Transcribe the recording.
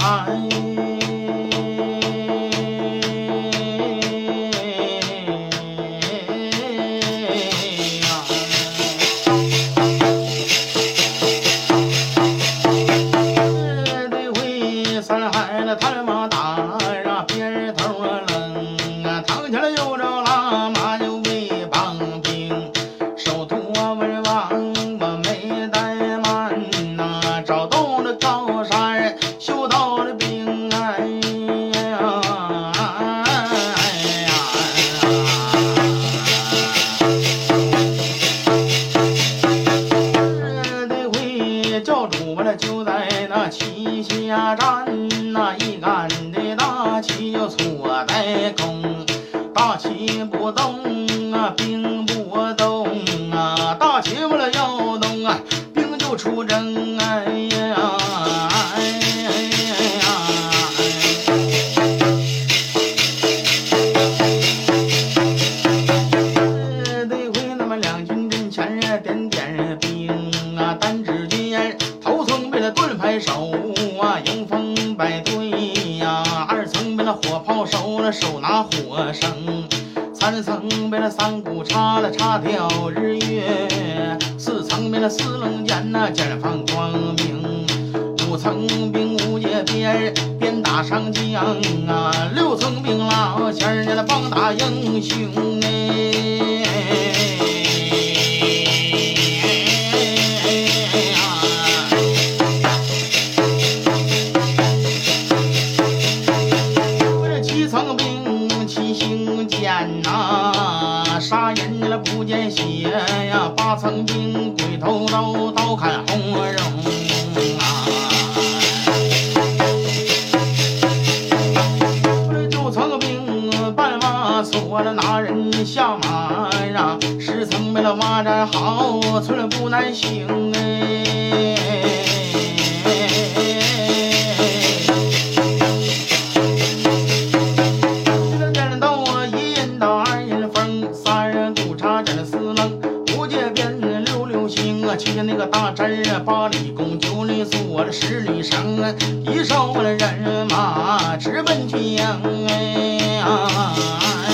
就在那旗下站，那一杆的大旗就错在空，大旗不动啊，兵不动啊，大旗为了要动啊，兵就出征。哎呀，哎呀，得亏那么两军阵前点点兵啊，单只见头层被那盾牌手啊，迎风摆队呀；二层被那火炮手了，手拿火绳；三层被那三股插了，插掉日月；四层被那四棱剑呐，剑放光明；五层兵无界鞭，鞭打上将啊；六层兵老仙儿那棒打英雄哎。杀人了不见血呀，八层兵鬼头刀，刀砍红绒啊。九层兵半挖锁了拿人下马呀，十层被了挖寨好，村不难行哎。去那个大阵8里弓9里锁了10里绳，一哨了人马直奔江哎呀。